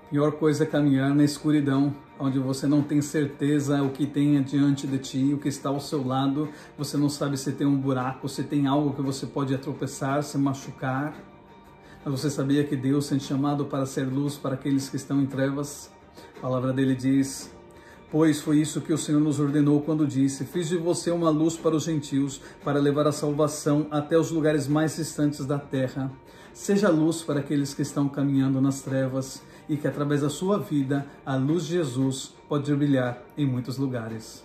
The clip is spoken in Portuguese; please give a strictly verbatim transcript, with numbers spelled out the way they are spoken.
Pior coisa é caminhar na escuridão, onde você não tem certeza o que tem diante de ti, o que está ao seu lado. Você não sabe se tem um buraco, se tem algo que você pode tropeçar, se machucar. Mas você sabia que Deus tem te chamado para ser luz para aqueles que estão em trevas? A palavra dele diz: pois foi isso que o Senhor nos ordenou quando disse: fiz de você uma luz para os gentios, para levar a salvação até os lugares mais distantes da terra. Seja luz para aqueles que estão caminhando nas trevas, e que através da sua vida, a luz de Jesus pode brilhar em muitos lugares.